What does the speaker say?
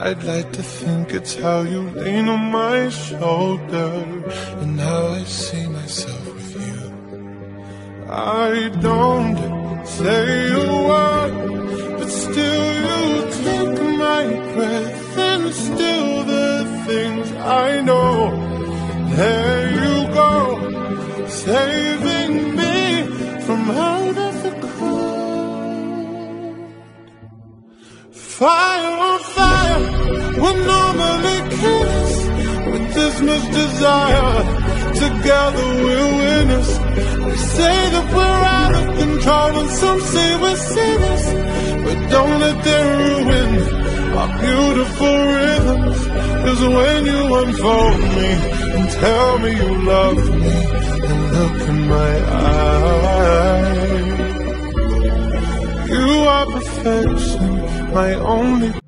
I'd like to think it's how you lean on my shoulder and how I see myself with you. I don't say a word, but still you take my breath and still the things I know. There you go, saving me from out of the cold. Fire on fire, we normally kiss with this much desire. Together we're winners. We say that we're out of control and some say we're sinners, but don't let them ruin our beautiful rhythms. 'Cause when you unfold me and tell me you love me and look in my eyes, you are perfection, my only